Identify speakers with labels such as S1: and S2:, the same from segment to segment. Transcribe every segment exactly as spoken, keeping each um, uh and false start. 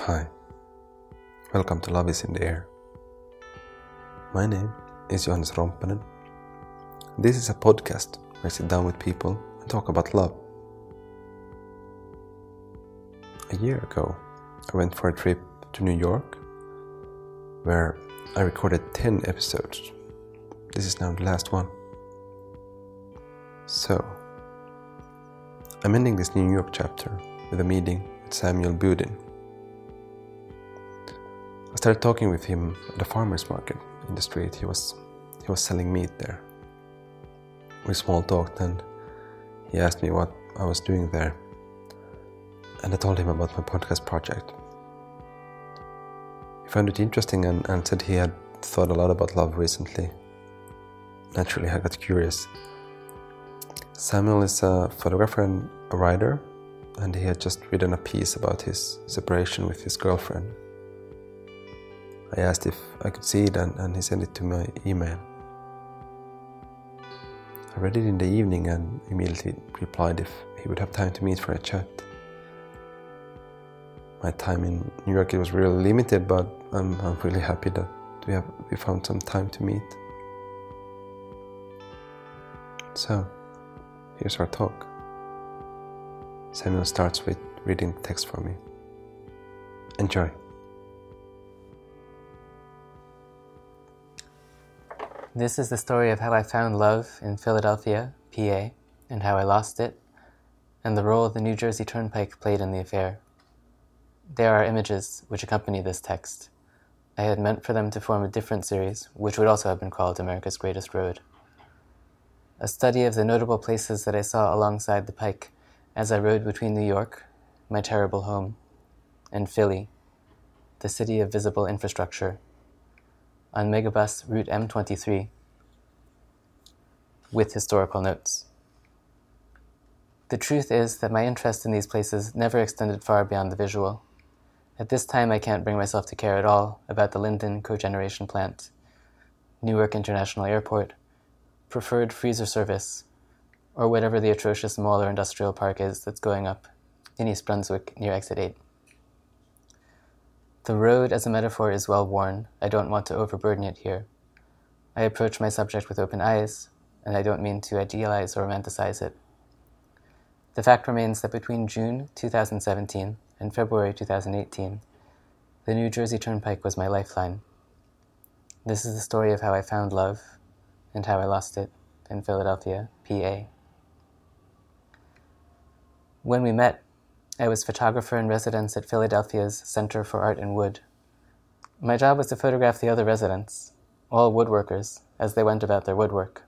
S1: Hi, welcome to Love is in the Air. My name is Johannes Romppanen. This is a podcast where I sit down with people and talk about love. A year ago, I went for a trip to New York where I recorded ten episodes. This is now the last one. So, I'm ending this New York chapter with a meeting with Samuel Budin. I started talking with him at a farmer's market in the street. He was he was selling meat there. We small talked and he asked me what I was doing there. And I told him about my podcast project. He found it interesting and, and said he had thought a lot about love recently. Naturally, I got curious. Samuel is a photographer and a writer, and he had just written a piece about his separation with his girlfriend. I asked if I could see it and, and he sent it to my email. I read it in the evening and immediately replied if he would have time to meet for a chat. My time in New York it was really limited, but I'm, I'm really happy that we have we found some time to meet. So, here's our talk. Samuel starts with reading the text for me. Enjoy.
S2: This is the story of how I found love in Philadelphia, P A, and how I lost it, and the role the New Jersey Turnpike played in the affair. There are images which accompany this text. I had meant for them to form a different series, which would also have been called America's Greatest Road. A study of the notable places that I saw alongside the pike as I rode between New York, my terrible home, and Philly, the city of visible infrastructure, on Megabus Route M twenty-three, with historical notes. The truth is that my interest in these places never extended far beyond the visual. At this time, I can't bring myself to care at all about the Linden Cogeneration Plant, Newark International Airport, preferred freezer service, or whatever the atrocious mall or industrial park is that's going up in East Brunswick near Exit eight. The road as a metaphor is well worn. I don't want to overburden it here. I approach my subject with open eyes, and I don't mean to idealize or romanticize it. The fact remains that between June two thousand seventeen and February two thousand eighteen, the New Jersey Turnpike was my lifeline. This is the story of how I found love and how I lost it in Philadelphia, P A. When we met, I was photographer in residence at Philadelphia's Center for Art and Wood. My job was to photograph the other residents, all woodworkers, as they went about their woodwork.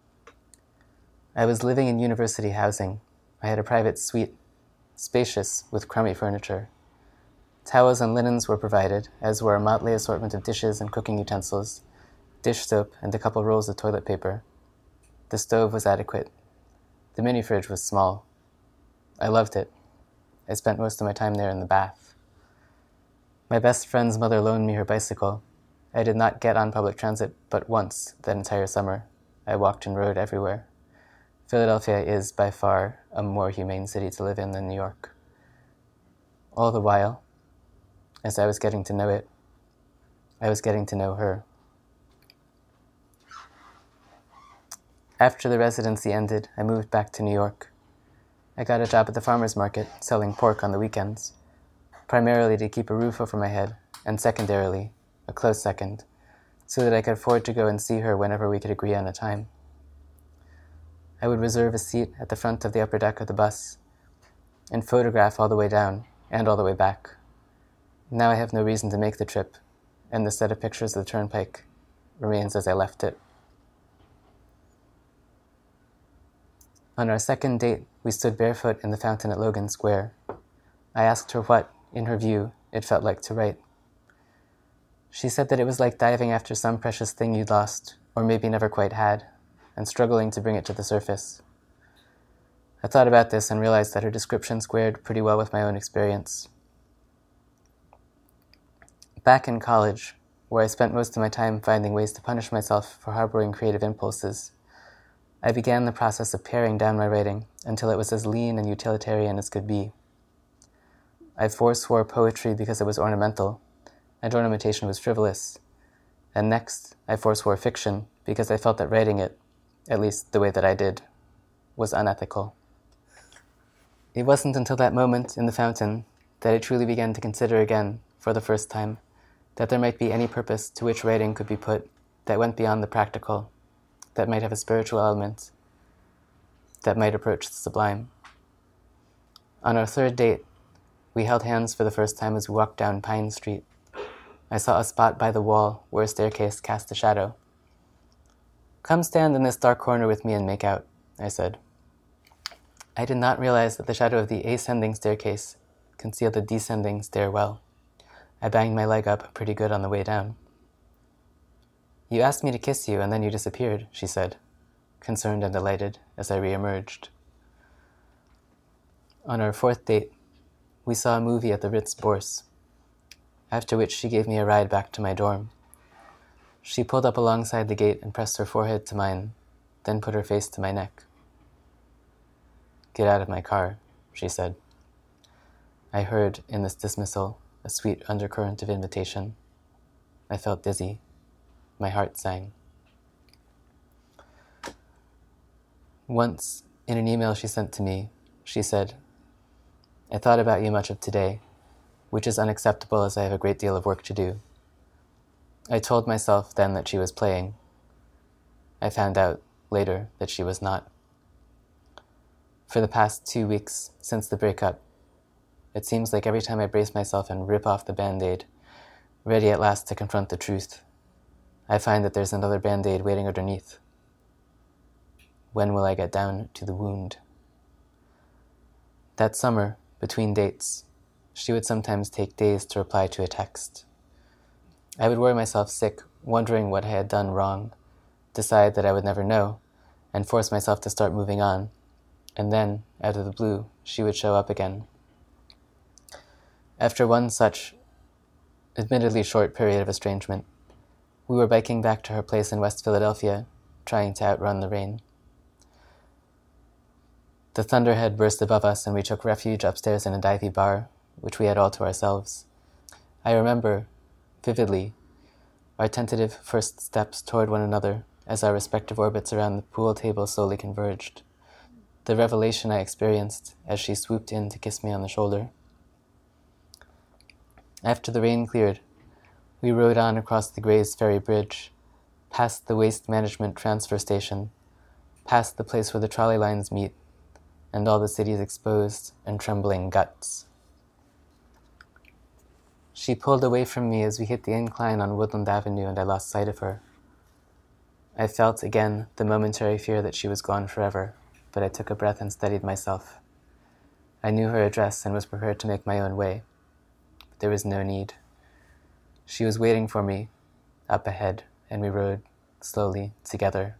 S2: I was living in university housing. I had a private suite, spacious with crummy furniture. Towels and linens were provided, as were a motley assortment of dishes and cooking utensils, dish soap and a couple rolls of toilet paper. The stove was adequate. The mini-fridge was small. I loved it. I spent most of my time there in the bath. My best friend's mother loaned me her bicycle. I did not get on public transit but once that entire summer. I walked and rode everywhere. Philadelphia is by far a more humane city to live in than New York. All the while, as I was getting to know it, I was getting to know her. After the residency ended, I moved back to New York. I got a job at the farmer's market, selling pork on the weekends, primarily to keep a roof over my head, and secondarily, a close second, so that I could afford to go and see her whenever we could agree on a time. I would reserve a seat at the front of the upper deck of the bus, and photograph all the way down and all the way back. Now I have no reason to make the trip, and the set of pictures of the turnpike remains as I left it. On our second date, we stood barefoot in the fountain at Logan Square. I asked her what, in her view, it felt like to write. She said that it was like diving after some precious thing you'd lost, or maybe never quite had, and struggling to bring it to the surface. I thought about this and realized that her description squared pretty well with my own experience. Back in college, where I spent most of my time finding ways to punish myself for harboring creative impulses, I began the process of paring down my writing until it was as lean and utilitarian as could be. I forswore poetry because it was ornamental, and ornamentation was frivolous. And next, I forswore fiction because I felt that writing it, at least the way that I did, was unethical. It wasn't until that moment in the fountain that I truly began to consider again, for the first time, that there might be any purpose to which writing could be put that went beyond the practical, that might have a spiritual element, that might approach the sublime. On our third date, we held hands for the first time as we walked down Pine Street. I saw a spot by the wall where a staircase cast a shadow. "Come stand in this dark corner with me and make out," I said. I did not realize that the shadow of the ascending staircase concealed the descending stairwell. I banged my leg up pretty good on the way down. "You asked me to kiss you, and then you disappeared," she said, concerned and delighted as I re-emerged. On our fourth date, we saw a movie at the Ritz Bourse, after which she gave me a ride back to my dorm. She pulled up alongside the gate and pressed her forehead to mine, then put her face to my neck. "Get out of my car," she said. I heard in this dismissal a sweet undercurrent of invitation. I felt dizzy. My heart sang. Once, in an email she sent to me, she said, "I thought about you much of today, which is unacceptable as I have a great deal of work to do." I told myself then that she was playing. I found out later that she was not. For the past two weeks since the breakup, it seems like every time I brace myself and rip off the Band-Aid, ready at last to confront the truth, I find that there's another Band-Aid waiting underneath. When will I get down to the wound? That summer, between dates, she would sometimes take days to reply to a text. I would worry myself sick, wondering what I had done wrong, decide that I would never know, and force myself to start moving on. And then, out of the blue, she would show up again. After one such, admittedly short period of estrangement, we were biking back to her place in West Philadelphia, trying to outrun the rain. The thunder had burst above us, and we took refuge upstairs in a divey bar, which we had all to ourselves. I remember, vividly, our tentative first steps toward one another as our respective orbits around the pool table slowly converged. The revelation I experienced as she swooped in to kiss me on the shoulder. After the rain cleared, we rode on across the Grays Ferry Bridge, past the Waste Management Transfer Station, past the place where the trolley lines meet, and all the city's exposed and trembling guts. She pulled away from me as we hit the incline on Woodland Avenue, and I lost sight of her. I felt again the momentary fear that she was gone forever, but I took a breath and steadied myself. I knew her address and was prepared to make my own way, but there was no need. She was waiting for me, up ahead, and we rode slowly together.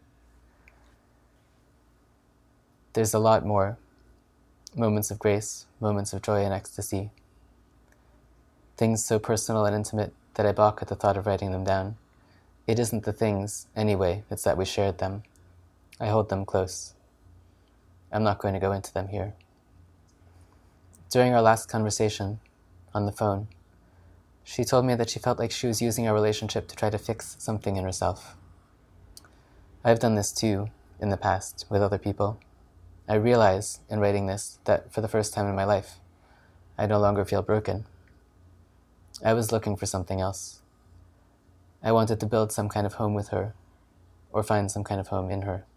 S2: There's a lot more. Moments of grace, moments of joy and ecstasy. Things so personal and intimate that I balk at the thought of writing them down. It isn't the things, anyway, it's that we shared them. I hold them close. I'm not going to go into them here. During our last conversation, on the phone, she told me that she felt like she was using our relationship to try to fix something in herself. I've done this too, in the past, with other people. I realize, in writing this, that for the first time in my life, I no longer feel broken. I was looking for something else. I wanted to build some kind of home with her, or find some kind of home in her.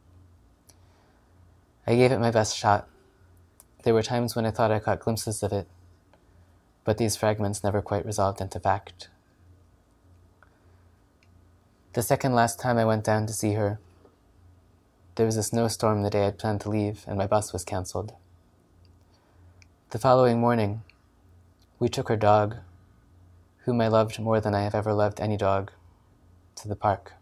S2: I gave it my best shot. There were times when I thought I caught glimpses of it, but these fragments never quite resolved into fact. The second last time I went down to see her, there was a snowstorm the day I'd planned to leave, and my bus was cancelled. The following morning, we took her dog, whom I loved more than I have ever loved any dog, to the park.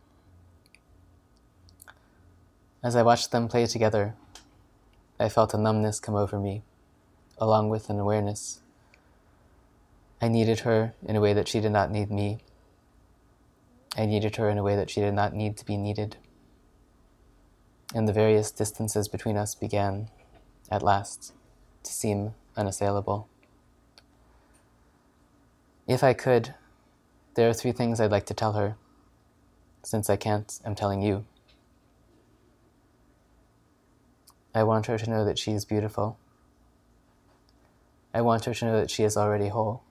S2: As I watched them play together, I felt a numbness come over me, along with an awareness. I needed her in a way that she did not need me. I needed her in a way that she did not need to be needed. And the various distances between us began, at last, to seem unassailable. If I could, there are three things I'd like to tell her. Since I can't, I'm telling you. I want her to know that she is beautiful. I want her to know that she is already whole.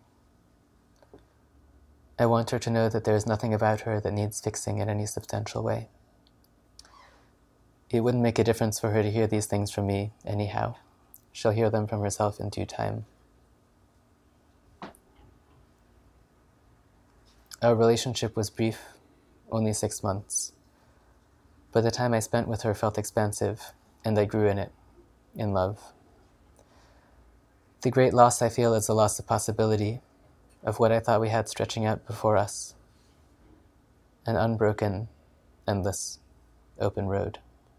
S2: I want her to know that there is nothing about her that needs fixing in any substantial way. It wouldn't make a difference for her to hear these things from me anyhow. She'll hear them from herself in due time. Our relationship was brief, only six months. But the time I spent with her felt expansive, and I grew in it, in love. The great loss I feel is the loss of possibility, of what I thought we had stretching out before us. An unbroken, endless, open road.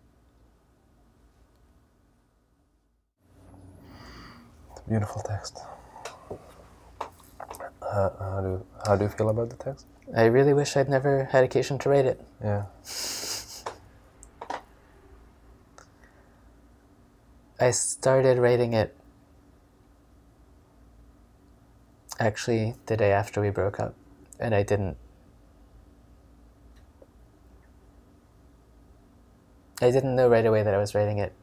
S1: It's a beautiful text. Uh, how, do, how do you feel about the text?
S2: I really wish I'd never had occasion to write it.
S1: Yeah.
S2: I started writing it actually the day after we broke up, and I didn't I didn't know right away that I was writing it,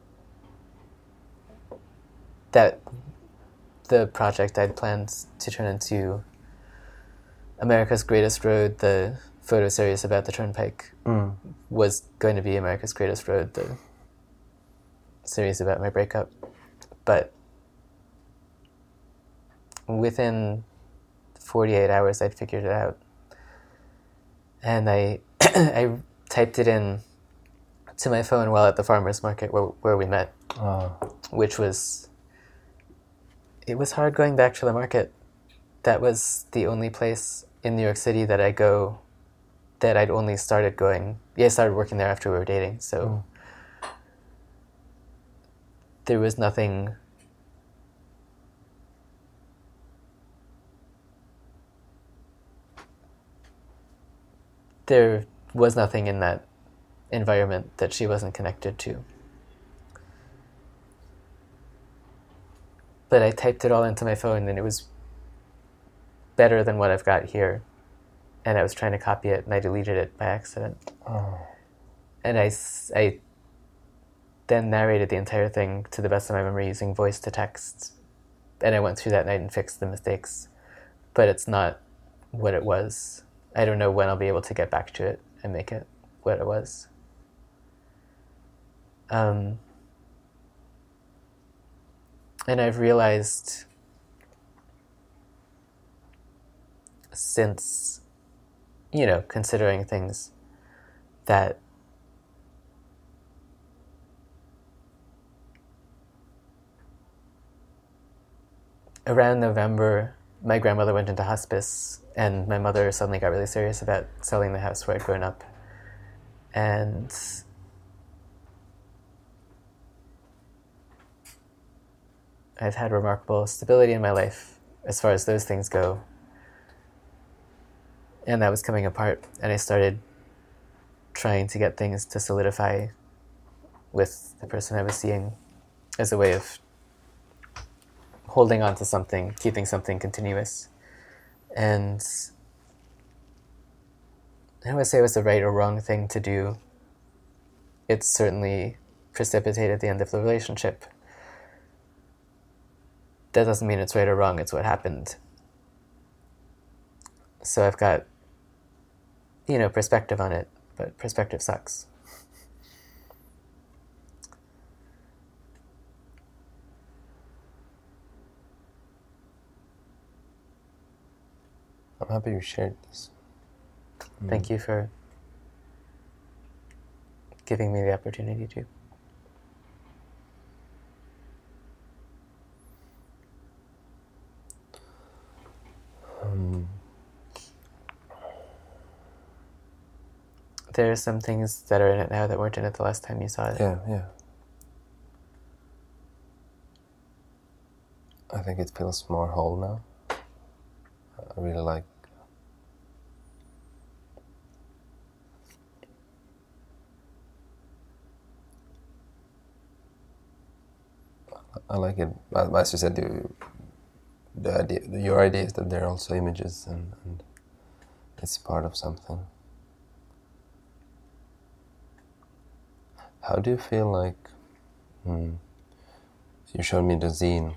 S2: that the project I'd planned to turn into America's Greatest Road, the photo series about the Turnpike,
S1: Mm.
S2: was going to be America's Greatest Road, the series about my breakup. But within forty-eight hours, I'd figured it out. And I I typed it in to my phone while at the farmer's market where, where we met,
S1: Oh.
S2: which was, it was hard going back to the market. That was the only place in New York City that I go, that I'd only started going. Yeah, I started working there after we were dating, so
S1: Mm.
S2: there was nothing there was nothing in that environment that she wasn't connected to. But I typed it all into my phone, and it was better than what I've got here. And I was trying to copy it, and I deleted it by accident.
S1: Oh.
S2: And I, s- I then narrated the entire thing to the best of my memory using voice to text. And I went through that night and fixed the mistakes. But it's not what it was. I don't know when I'll be able to get back to it and make it what it was. Um, and I've realized since, you know, considering things, that around November, my grandmother went into hospice, and my mother suddenly got really serious about selling the house where I'd grown up. And I've had remarkable stability in my life as far as those things go. And that was coming apart, and I started trying to get things to solidify with the person I was seeing as a way of holding on to something, keeping something continuous. And I don't want to say it was the right or wrong thing to do. It certainly precipitated the end of the relationship. That doesn't mean it's right or wrong, it's what happened. So I've got, you know, perspective on it, but perspective sucks.
S1: I'm happy you shared this.
S2: Thank you for giving me the opportunity to.
S1: Um,
S2: There are some things that are in it now that weren't in it the last time you saw it.
S1: yeah, yeah. I think it feels more whole now. I really like I like it. As you said, you the idea, your idea is that they're also images and, and it's part of something. How do you feel like, hmm, you showed me the zine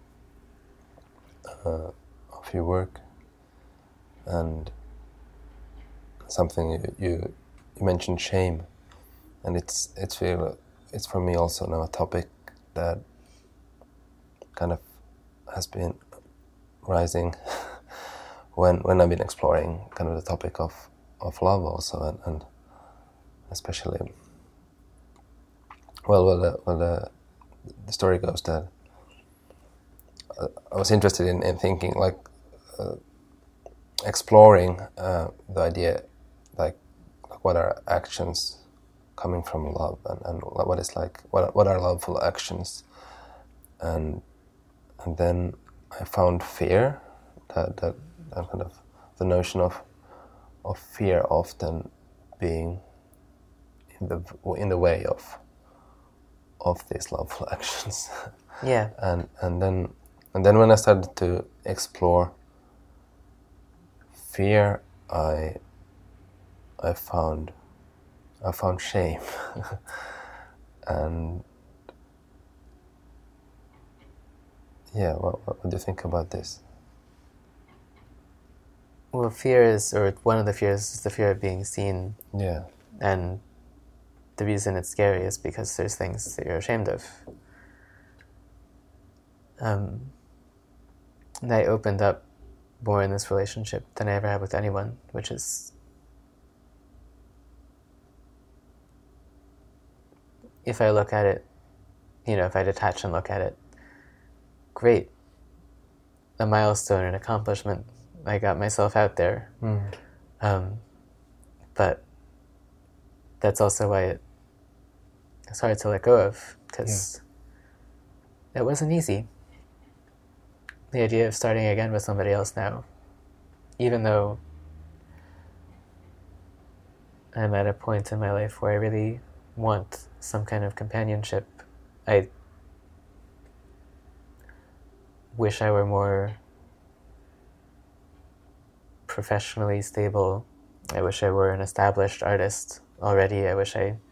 S1: uh, of your work, and something you, you you mentioned shame, and it's it's feel it's for me also now a topic that kind of has been rising when when I've been exploring kind of the topic of, of love also, and, and especially well well the, well the the story goes that uh, I was interested in, in thinking like uh, exploring uh, the idea like, like what are actions coming from love, and, and what is like what what are loveful actions, and and then I found fear, that that, that kind of the notion of of fear often being in the in the way of of these loveful actions.
S2: Yeah.
S1: and and then and then when I started to explore fear, I I found I found shame. And yeah, what, what do you think about this?
S2: Well, fear is, or one of the fears is the fear of being seen.
S1: Yeah.
S2: And the reason it's scary is because there's things that you're ashamed of. Um, and I opened up more in this relationship than I ever have with anyone, which is, if I look at it, you know, if I detach and look at it, great. A milestone, an accomplishment. I got myself out there.
S1: Mm.
S2: Um, but that's also why it, it's hard to let go of, because yeah. It wasn't easy. The idea of starting again with somebody else now, even though I'm at a point in my life where I really want some kind of companionship, I wish I were more professionally stable. I wish I were an established artist already. I wish I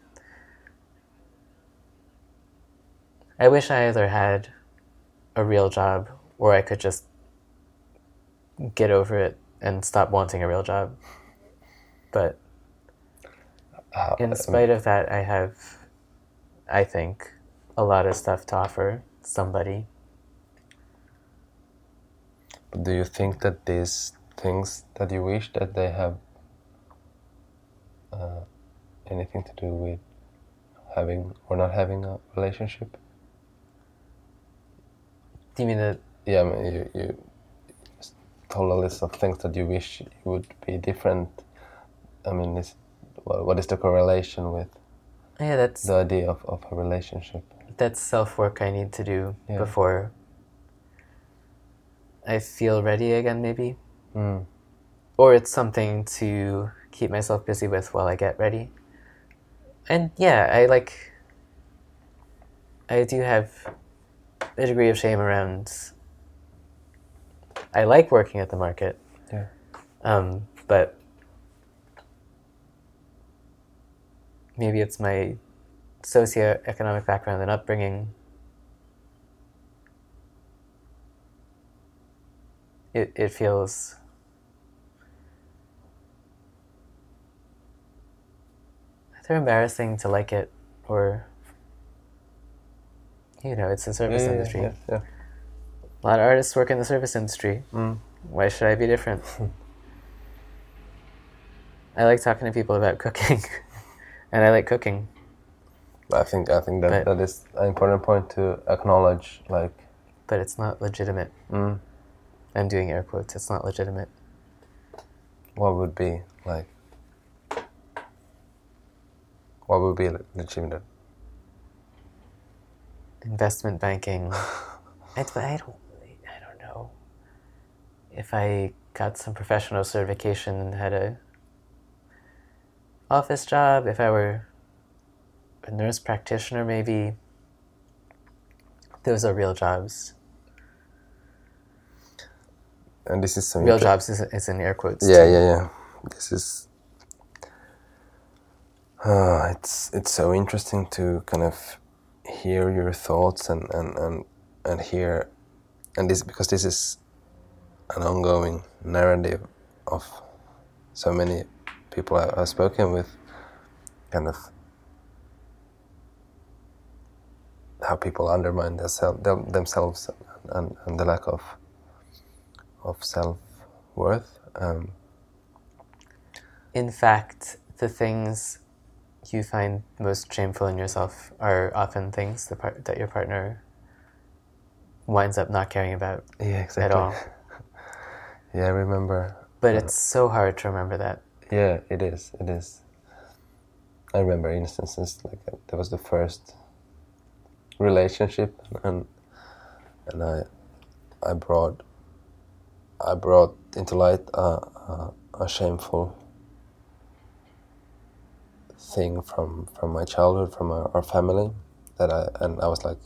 S2: I wish I either had a real job or I could just get over it and stop wanting a real job. But
S1: Uh,
S2: in spite of that, I have, I think, a lot of stuff to offer somebody.
S1: Do you think that these things that you wish, that they have uh, anything to do with having or not having a relationship?
S2: Do you mean that?
S1: Yeah, I mean, you, you just told a list of things that you wish would be different. I mean, is, what is the correlation with
S2: Yeah, that's
S1: the idea of, of a relationship?
S2: That's self-work I need to do
S1: yeah.
S2: before I feel ready again, maybe.
S1: Mm.
S2: Or it's something to keep myself busy with while I get ready. And yeah, I like, I do have a degree of shame around, I like working at the market.
S1: Yeah.
S2: Um, but maybe it's my socioeconomic background and upbringing. It, it feels either embarrassing to like it, or, you know, it's the service
S1: yeah,
S2: industry.
S1: Yeah, yeah.
S2: A lot of artists work in the service industry.
S1: Mm.
S2: Why should I be different? I like talking to people about cooking, and I like cooking.
S1: I think I think that
S2: But,
S1: that is an important point to acknowledge. Like,
S2: but it's not legitimate.
S1: mm.
S2: I'm doing air quotes. It's not legitimate.
S1: What would be like? What would be legitimate?
S2: Investment banking. I, I don't. I don't know. If I got some professional certification and had a office job, if I were a nurse practitioner, maybe. Those are real jobs.
S1: and this is so
S2: real
S1: inter-
S2: jobs is, is in air quotes.
S1: Yeah,
S2: too.
S1: yeah, yeah. This is. Uh, it's it's so interesting to kind of hear your thoughts and and and, and hear, and this because this is an ongoing narrative of so many people I, I've spoken with, kind of how people undermine their self, them, themselves and, and, and the lack of of self-worth. Um,
S2: In fact, the things you find most shameful in yourself are often things the part, that your partner winds up not caring about
S1: yeah, exactly.
S2: at all.
S1: Yeah, I remember.
S2: But
S1: uh,
S2: it's so hard to remember that.
S1: Yeah, it is. It is. I remember instances like uh, that was the first relationship, and and I I brought I brought into light a, a, a shameful thing from, from my childhood, from our, our family, that I and I was like,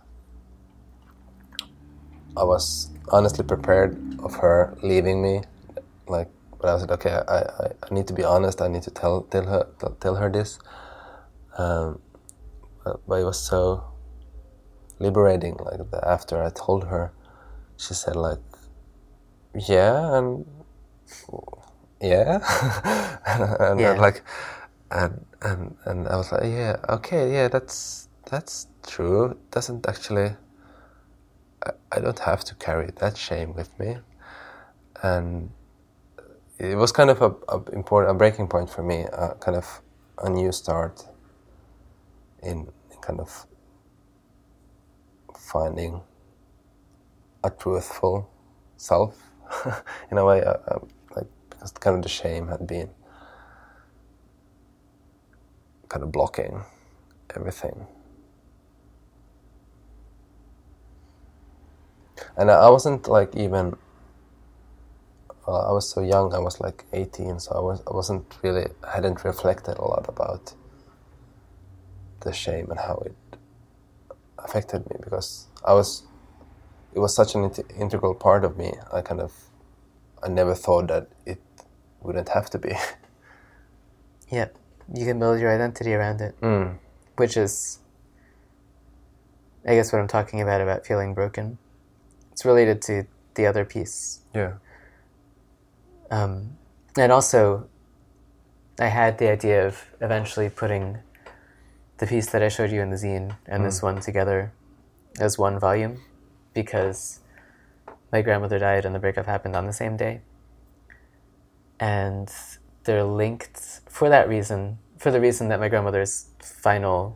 S1: I was honestly prepared of her leaving me, like, but I was like, okay, I, I, I need to be honest. I need to tell tell her tell her this. Um, but, but it was so liberating. Like the, after I told her, she said like, yeah, and yeah, and, and,
S2: Yeah.
S1: and like, and and and I was like, yeah, okay, yeah, that's that's true. It doesn't actually. I, I don't have to carry that shame with me, and it was kind of a, a important a breaking point for me, uh, kind of a new start in, in kind of finding a truthful self in a way, uh, uh, like because kind of the shame had been kind of blocking everything, and I, I wasn't like even. Uh, I was so young. I was like eighteen, so I was I wasn't really I hadn't reflected a lot about the shame and how it affected me, because I was it was such an int- integral part of me. I kind of I never thought that it wouldn't have to be.
S2: Yep. You can build your identity around it,
S1: Mm.
S2: which is, I guess, what I'm talking about about feeling broken. It's related to the other piece.
S1: Yeah.
S2: Um, and also, I had the idea of eventually putting the piece that I showed you in the zine and
S1: Mm.
S2: this one together as one volume, because my grandmother died and the breakup happened on the same day. And they're linked for that reason, for the reason that my grandmother's final...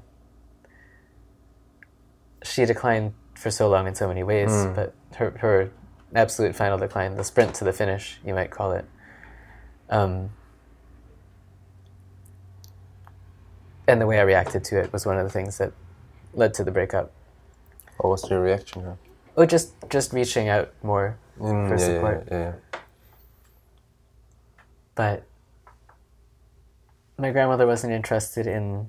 S2: She declined for so long in so many ways,
S1: Mm.
S2: but her, her absolute final decline, the sprint to the finish, you might call it, um, and the way I reacted to it was one of the things that led to the breakup.
S1: What was your reaction? Huh?
S2: Oh, just just reaching out more
S1: Mm,
S2: for
S1: yeah,
S2: support.
S1: Yeah, yeah, yeah.
S2: But my grandmother wasn't interested in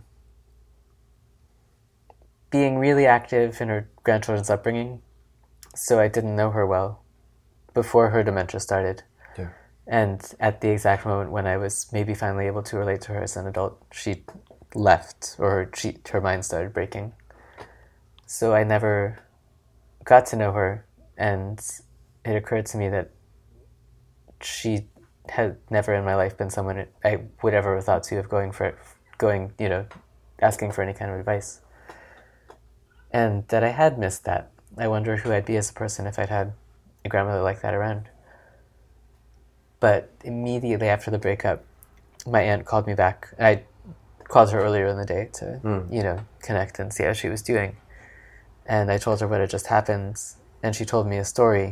S2: being really active in her grandchildren's upbringing, so I didn't know her well before her dementia started.
S1: Yeah.
S2: And at the exact moment when I was maybe finally able to relate to her as an adult, she left, or her, she, her mind started breaking. So I never got to know her, and it occurred to me that she had never in my life been someone I would ever have thought to of going for, going, you know, asking for any kind of advice. And that I had missed that. I wonder who I'd be as a person if I'd had a grandmother like that around. But immediately after the breakup, my aunt called me back. I called her earlier in the day to,
S1: Mm.
S2: you know, connect and see how she was doing. And I told her what had just happened, and she told me a story,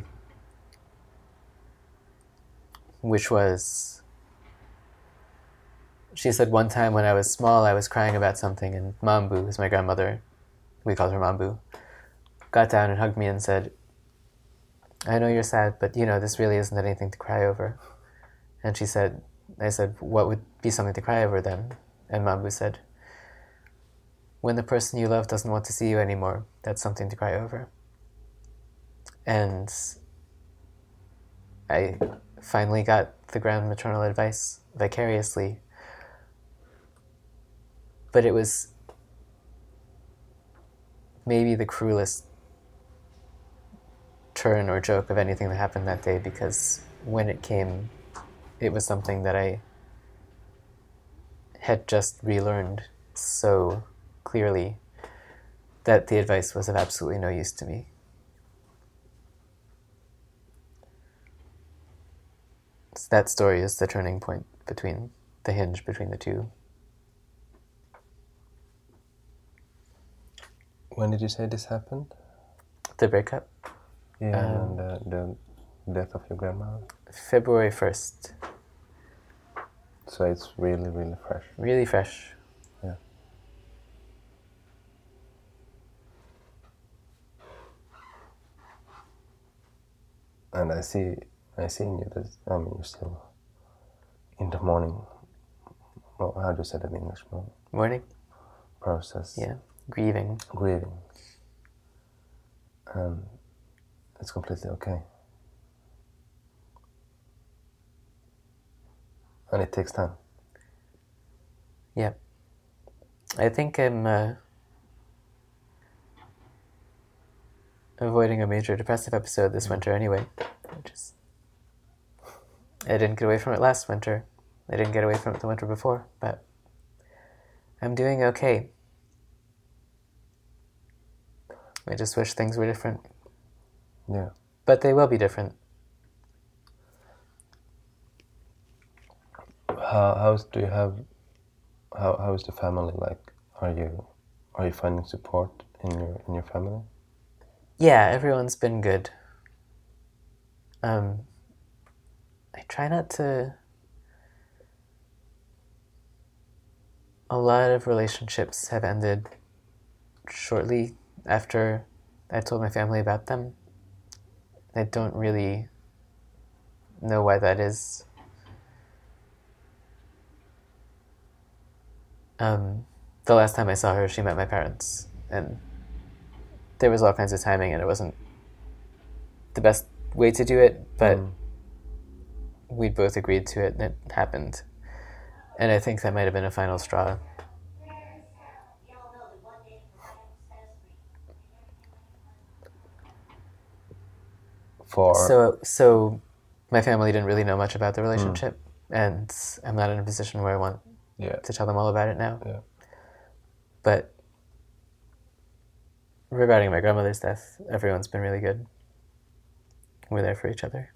S2: which was, she said one time when I was small, I was crying about something, and Mambu, who's my grandmother, we called her Mambu, got down and hugged me and said, I know you're sad, but, you know, this really isn't anything to cry over. And she said, I said, what would be something to cry over then? And Mambu said, when the person you love doesn't want to see you anymore, that's something to cry over. And I finally got the ground maternal advice vicariously. But it was maybe the cruelest turn or joke of anything that happened that day, because when it came, it was something that I had just relearned so clearly that the advice was of absolutely no use to me. So that story is the turning point between the hinge between the two.
S1: When did you say this happened?
S2: The breakup?
S1: Yeah,
S2: Um,
S1: and the, the death of your grandmother.
S2: February first.
S1: So it's really, really fresh.
S2: Really fresh.
S1: Yeah. And I see, I see in you that, I mean, you're still in the morning, well, how do you say that in English? Mo-
S2: Morning?
S1: Process.
S2: Yeah. Grieving.
S1: Grieving. And it's completely okay. And it takes time.
S2: Yeah. I think I'm uh, avoiding a major depressive episode this winter anyway. Which is, I didn't get away from it last winter. I didn't get away from it the winter before, but I'm doing okay. I just wish things were different.
S1: Yeah.
S2: But they will be different.
S1: How how's do you have how how is the family like? Are you are you finding support in your in your family?
S2: Yeah, everyone's been good. Um, I try not to. A lot of relationships have ended shortly after I told my family about them. I don't really know why that is. Um, the last time I saw her, she met my parents, and there was all kinds of timing, and it wasn't the best way to do it, but mm. we'd both agreed to it, and it happened. And I think that might have been a final straw.
S1: For
S2: so, so my family didn't really know much about the relationship, mm. and I'm not in a position where I want
S1: yeah.
S2: to tell them all about it now.
S1: Yeah.
S2: But regarding my grandmother's death, everyone's been really good. We're there for each other.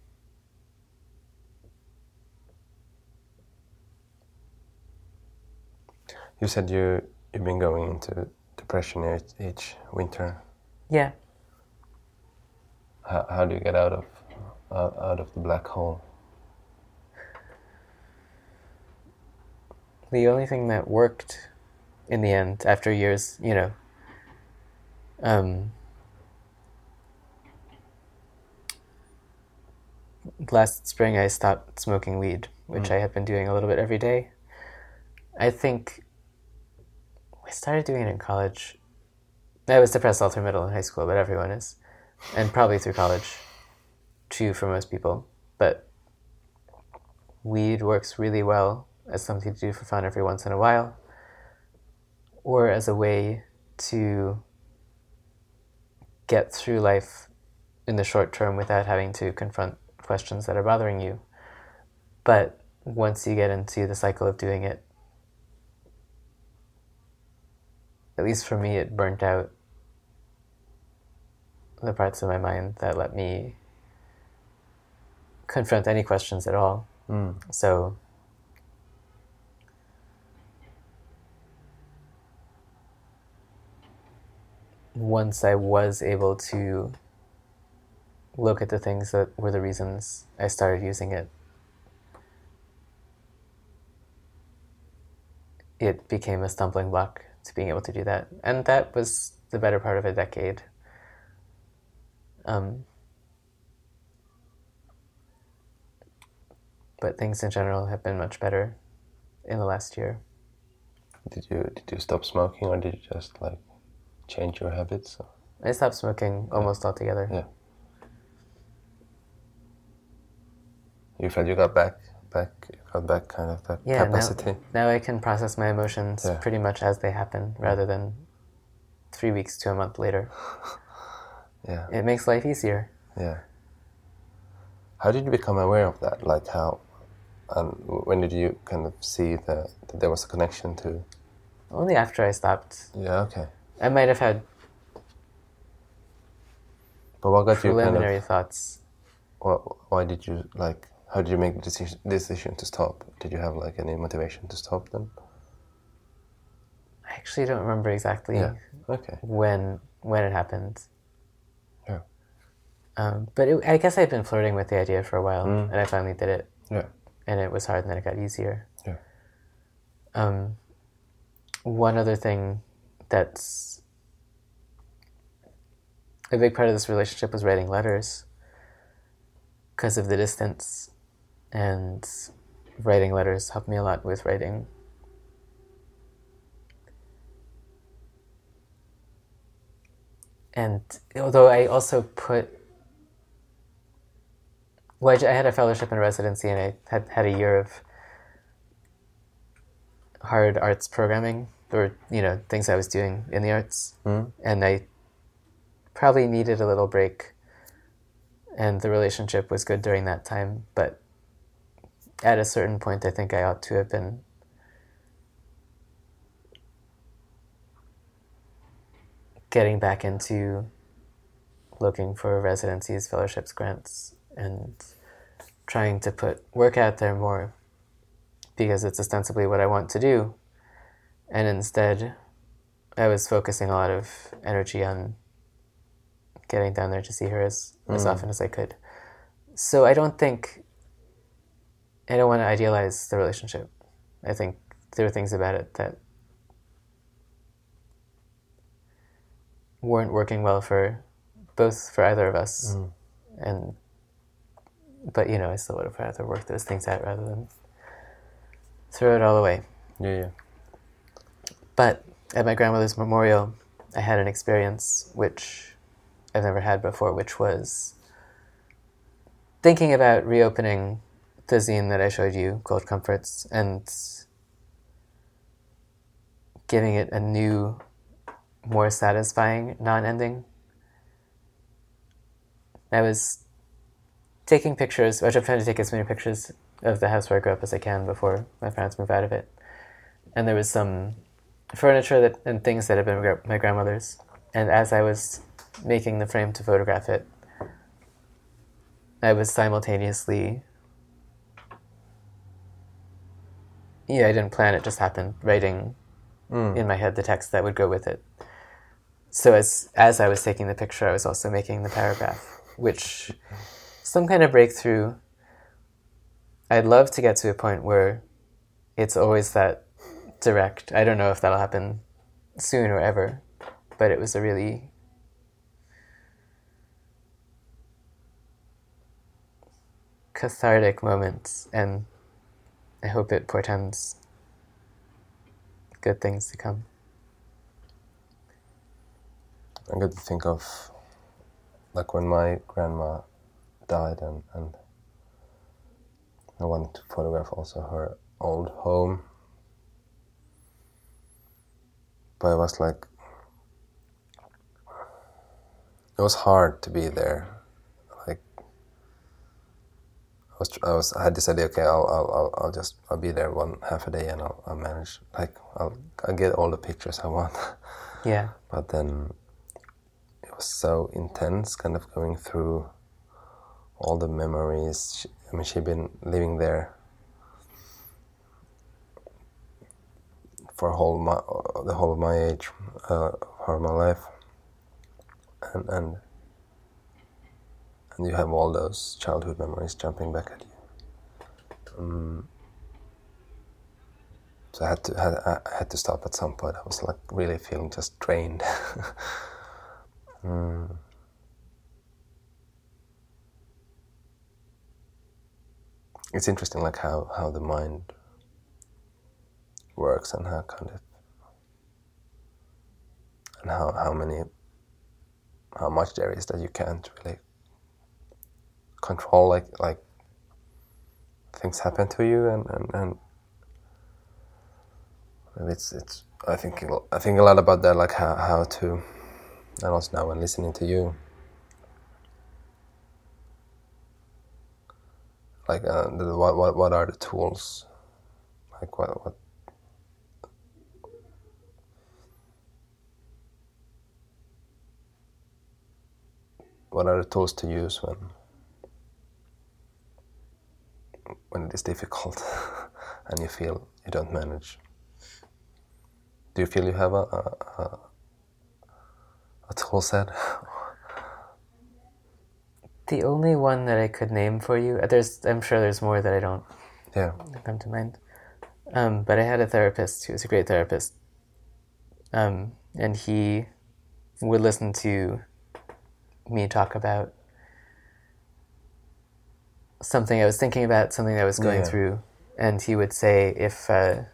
S1: You said you, you've been going into depression each, each winter.
S2: Yeah.
S1: How, how do you get out of uh, out of the black hole?
S2: The only thing that worked in the end, after years, you know, um, last spring I stopped smoking weed, which mm. I had been doing a little bit every day. I think I started doing it in college. I was depressed all through middle and high school, but everyone is. And probably through college, too, for most people. But weed works really well as something to do for fun every once in a while, or as a way to get through life in the short term without having to confront questions that are bothering you. But once you get into the cycle of doing it, at least for me, it burnt out the parts of my mind that let me confront any questions at all.
S1: Mm.
S2: So once I was able to look at the things that were the reasons I started using it, it became a stumbling block to being able to do that. And that was the better part of a decade. Um, but things in general have been much better in the last year.
S1: Did you did you stop smoking, or did you just like change your habits?
S2: I stopped smoking almost
S1: yeah.
S2: altogether.
S1: Yeah. You felt you got back, back, you got back kind of that
S2: yeah,
S1: capacity.
S2: Now, now I can process my emotions
S1: Yeah.
S2: pretty much as they happen, rather than three weeks to a month later.
S1: Yeah.
S2: It makes life easier.
S1: Yeah. How did you become aware of that? Like how, and when did you kind of see the, that there was a connection to?
S2: Only after I stopped.
S1: Yeah, okay.
S2: I might have had
S1: But what got you kind
S2: preliminary
S1: of,
S2: thoughts.
S1: what, why did you, like, how did you make the decision, decision to stop? Did you have like any motivation to stop then?
S2: I actually don't remember exactly
S1: Yeah, okay.
S2: when when it happened.
S1: Yeah.
S2: Um, but it, I guess I'd been flirting with the idea for a while,
S1: Mm.
S2: and I finally did it.
S1: Yeah.
S2: And it was hard, and then it got easier.
S1: Yeah.
S2: Um, one other thing that's a big part of this relationship was writing letters because of the distance, and writing letters helped me a lot with writing. And although I also put, well, I had a fellowship in residency, and I had had a year of hard arts programming, or, you know, things I was doing in the arts.
S1: Mm.
S2: And I probably needed a little break, and the relationship was good during that time. But at a certain point, I think I ought to have been getting back into looking for residencies, fellowships, grants, and trying to put work out there more, because it's ostensibly what I want to do. And instead, I was focusing a lot of energy on getting down there to see her as, mm. as often as I could. So I don't think, I don't want to idealize the relationship. I think there are things about it that weren't working well for both, for either of us.
S1: Mm.
S2: And but, you know, I still would have rather work those things out rather than throw it all away.
S1: Yeah, yeah.
S2: But at my grandmother's memorial, I had an experience which I've never had before, which was thinking about reopening the zine that I showed you, Cold Comforts, and giving it a new, more satisfying non-ending. I was taking pictures, which I'm trying to take as many pictures of the house where I grew up as I can before my parents move out of it. And there was some furniture that and things that had been my grandmother's. And as I was making the frame to photograph it, I was simultaneously, yeah, I didn't plan, it just happened, writing mm. in my head the text that would go with it. So as as I was taking the picture, I was also making the paragraph, which some kind of breakthrough. I'd love to get to a point where it's always that direct. I don't know if that'll happen soon or ever, but it was a really cathartic moment, and I hope it portends good things to come.
S1: I get to think of, like, when my grandma died, and, and I wanted to photograph also her old home. But it was like, it was hard to be there. Like, I was, I was, I had this idea. Okay, I'll, I'll, I'll, I'll just, I'll be there one half a day, and I'll, I'll manage. Like, I'll, I'll get all the pictures I want.
S2: Yeah.
S1: But then it was so intense, kind of going through all the memories. She, I mean, she'd been living there for whole my, the whole of my age, uh, for my life, and and and you have all those childhood memories jumping back at you. Um, so I had to had, I had to stop at some point. I was like really feeling just drained. mm. It's interesting, like how, how the mind works, and how kind of, and how, how many, how much there is that you can't really control. Like like things happen to you, and and, and And it's it's I think I think a lot about that, like how how to, and also now when listening to you, like uh, the, what what what are the tools, like what what what are the tools to use when when it is difficult and you feel you don't manage. Do you feel you have a a, a, a tool set?
S2: The only one that I could name for you, there's I'm sure there's more that I don't
S1: Yeah.
S2: come to mind. Um, but I had a therapist who was a great therapist, um, and he would listen to me talk about something I was thinking about, something I was going
S1: Yeah.
S2: through, and he would say if uh,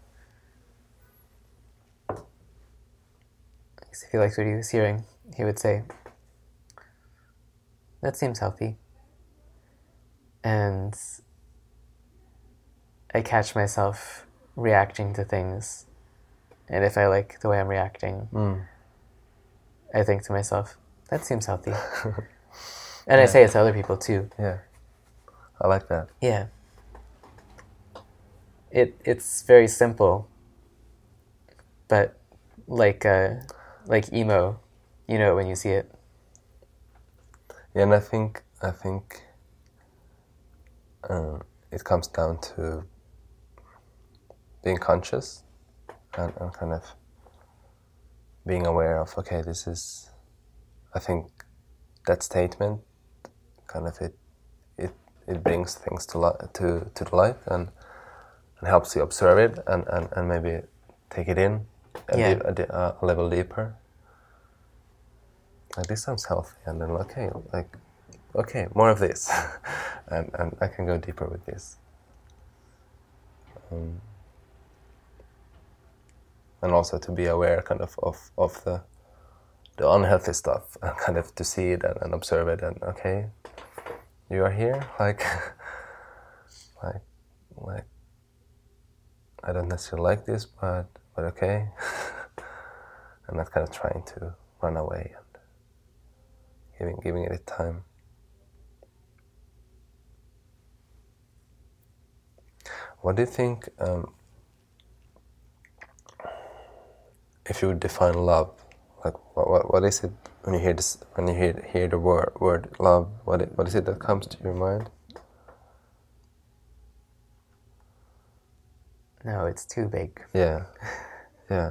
S2: if he liked what he was hearing, he would say, "That seems healthy," and I catch myself reacting to things, and if I like the way I'm reacting,
S1: Mm.
S2: I think to myself, that seems healthy. And yeah. I say it to other people too.
S1: Yeah, I like that.
S2: Yeah. It it's very simple, but like uh, like emo, you know it when you see it.
S1: Yeah, and I think I think uh, it comes down to being conscious and, and kind of being aware of, okay, this is, I think that statement kind of it it, it brings things to li- to to the light and, and helps you observe it and, and, and maybe take it in a,
S2: Yeah.
S1: deep, a, di- a level deeper. Like, this sounds healthy, and then okay, like okay, more of this, and and I can go deeper with this. Um, and also to be aware kind of of, of the the unhealthy stuff and kind of to see it and, and observe it and okay, you are here, like like like I don't necessarily like this, but but okay. And not kind of trying to run away and giving giving it time. What do you think, um, if you would define love, like what, what what is it when you hear this, when you hear hear the word word love? What it, what is it that comes to your mind?
S2: No, it's too big.
S1: Yeah, yeah.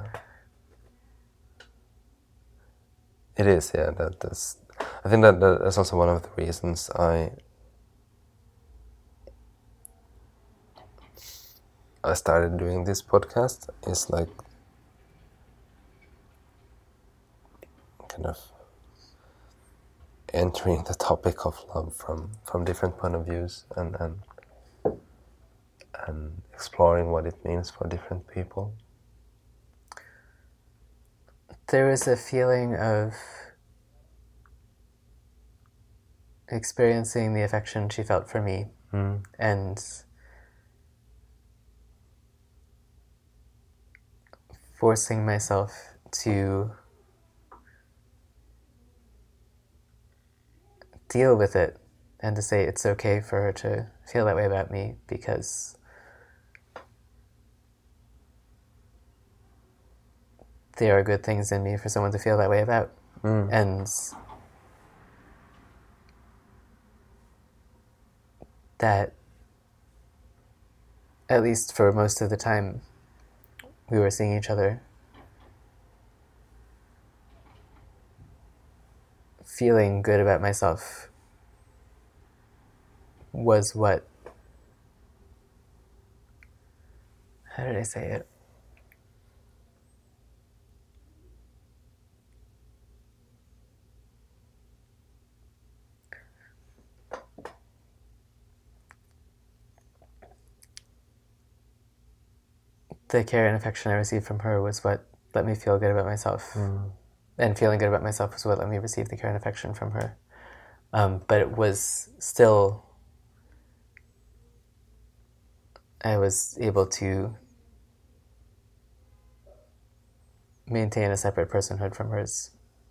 S1: It is. Yeah, that that's. I think that that's also one of the reasons I I started doing this podcast. Is like kind of entering the topic of love from, from different point of views and, and and exploring what it means for different people.
S2: There was a feeling of experiencing the affection she felt for me,
S1: mm.
S2: and forcing myself to deal with it and to say it's okay for her to feel that way about me, because there are good things in me for someone to feel that way about.
S1: Mm.
S2: And that, at least for most of the time we were seeing each other, feeling good about myself was what, how did I say it? The care and affection I received from her was what let me feel good about myself.
S1: Mm.
S2: And feeling good about myself was what let me receive the care and affection from her. Um, but it was still I was able to maintain a separate personhood from hers,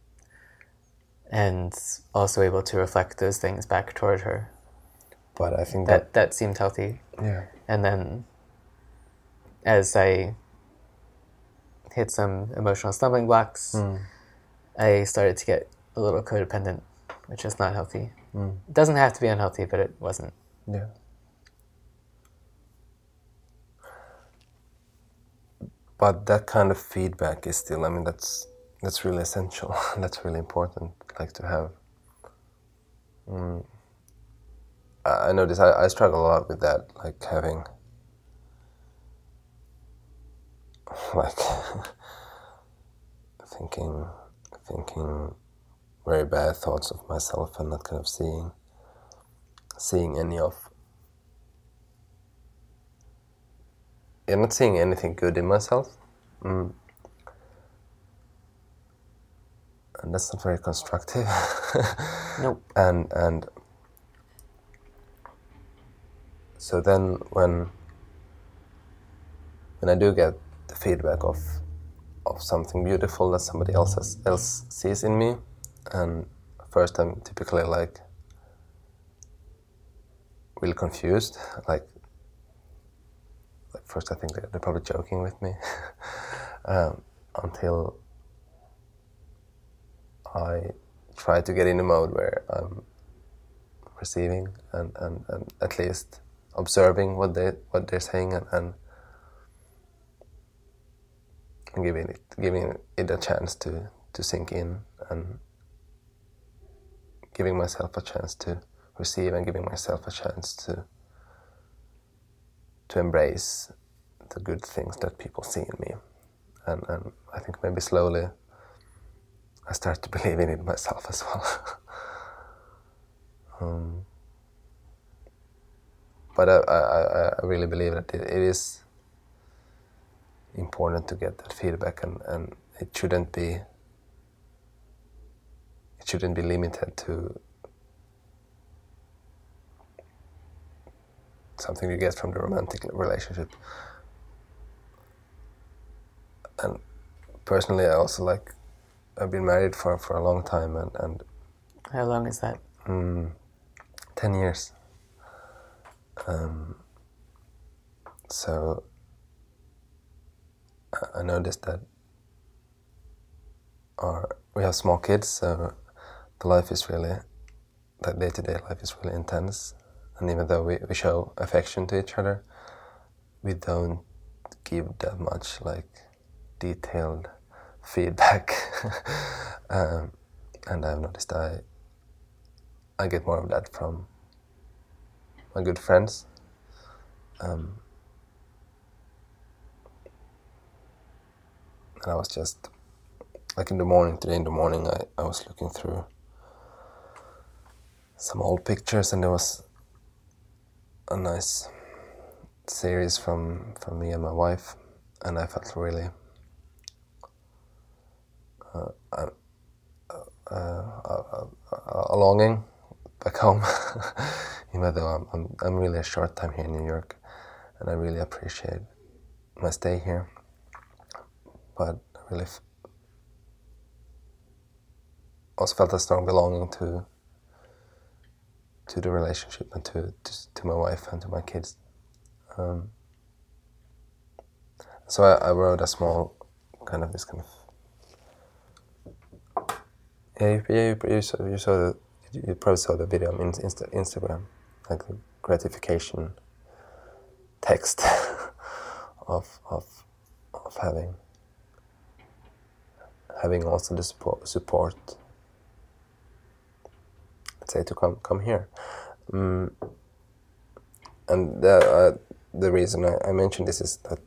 S2: and also able to reflect those things back toward her.
S1: But I think
S2: that
S1: that,
S2: that seemed healthy.
S1: yeah.
S2: And then as I hit some emotional stumbling blocks,
S1: Mm.
S2: I started to get a little codependent, which is not healthy.
S1: Mm.
S2: It doesn't have to be unhealthy, but it wasn't.
S1: Yeah. But that kind of feedback is still, I mean, that's that's really essential. That's really important, like to have. Mm. I I notice I, I struggle a lot with that, like having, like, thinking, thinking very bad thoughts of myself and not kind of seeing, seeing any of, yeah, not seeing anything good in myself. Mm. And that's not very constructive.
S2: Nope.
S1: And and so then when when I do get the feedback of of something beautiful that somebody else has, else sees in me, and first I'm typically like really confused. Like, like first I think they're, they're probably joking with me, um, until I try to get in a mode where I'm receiving and, and, and at least observing what they what they're saying, and, and giving it giving it a chance to, to sink in, and giving myself a chance to receive, and giving myself a chance to to embrace the good things that people see in me. And, and I think maybe slowly I start to believe in it myself as well. um, but I, I, I really believe that it, it is important to get that feedback, and, and it shouldn't be it shouldn't be limited to something you get from the romantic relationship. And personally, I also like, I've been married for, for a long time, and, and
S2: How long is that?
S1: mm, ten years. Um, so I, I noticed that our, we have small kids, so the life is really, that day-to-day life is really intense. And even though we, we show affection to each other, we don't give that much like detailed feedback. um, and I've noticed I I get more of that from my good friends. Um, and I was just, like in the morning, today in the morning, I, I was looking through some old pictures, and there was a nice series from, from me and my wife, and I felt really uh, uh, uh, uh, a longing back home, even though I'm, I'm I'm really a short time here in New York, and I really appreciate my stay here. But I really f- also felt a strong belonging to to the relationship, and to to, to my wife and to my kids. Um, so I, I wrote a small kind of this kind of yeah you, you, you saw you saw the you probably saw the video on Insta, Instagram, like the gratification text of of of having having also the support support let's say to come come here. Um, and the uh, the reason I, I mentioned this is that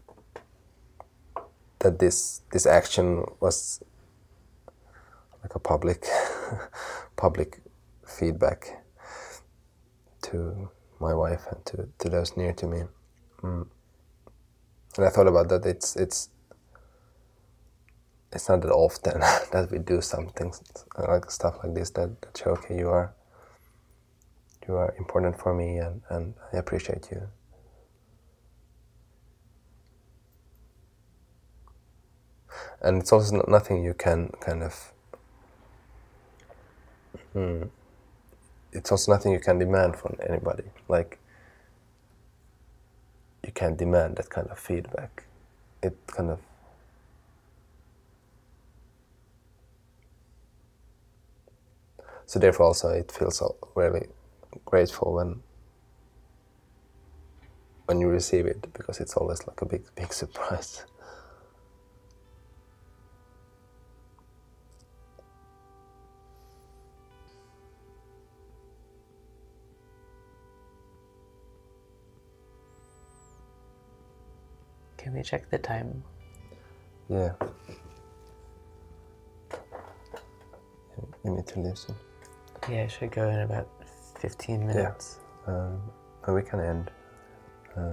S1: that this this action was like a public public feedback to my wife and to, to those near to me. Mm. And I thought about that. It's it's it's not that often that we do something like stuff like this that, that show, okay, you are you are important for me, and, and I appreciate you. And it's also not, nothing you can kind of... Hmm, it's also nothing you can demand from anybody. Like, you can't demand that kind of feedback. It kind of... So therefore also it feels really grateful when when you receive it, because it's always like a big, big surprise.
S2: Can we check the time?
S1: Yeah. You need to listen.
S2: Yeah, I should go in about fifteen minutes.
S1: Yeah. Um, and we can end. Uh,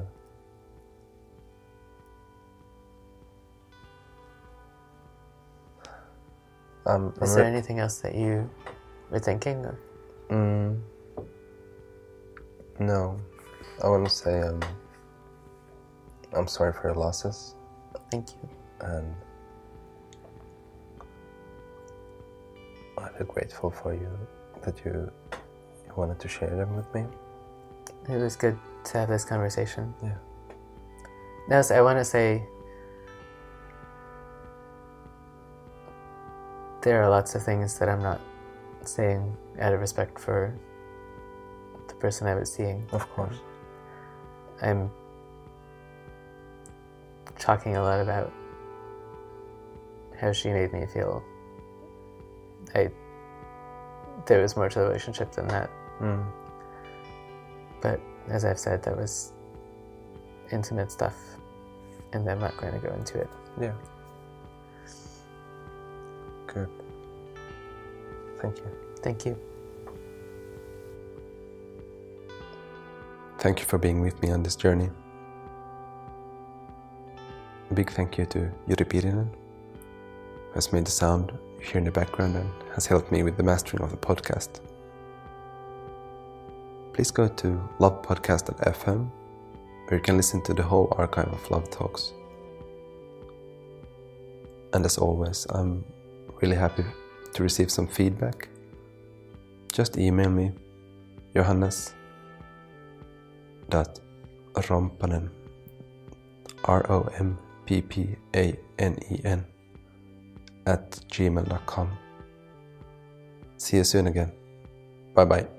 S1: um,
S2: Is
S1: I'm
S2: there
S1: re-
S2: anything else that you were thinking of?
S1: Mm, no. I want to say um, I'm sorry for your losses.
S2: Thank you.
S1: And I'm really grateful for you that you, you wanted to share them with me.
S2: It was good to have this conversation.
S1: Yeah.
S2: No, so I want to say there are lots of things that I'm not saying out of respect for the person I was seeing.
S1: Of course.
S2: I'm talking a lot about how she made me feel. I there was more to the relationship than that.
S1: Mm.
S2: But as I've said, that was intimate stuff, and I'm not going to go into it.
S1: Yeah. Good. Thank you.
S2: Thank you.
S1: Thank you for being with me on this journey. A big thank you to Juri Pirinen, who has made the sound you hear in the background and has helped me with the mastering of the podcast. Please go to love podcast dot f m, where you can listen to the whole archive of Love Talks. And as always, I'm really happy to receive some feedback. Just email me, Johannes dot romppanen, R O M P P A N E N, at gmail dot com. See you soon again. Bye bye.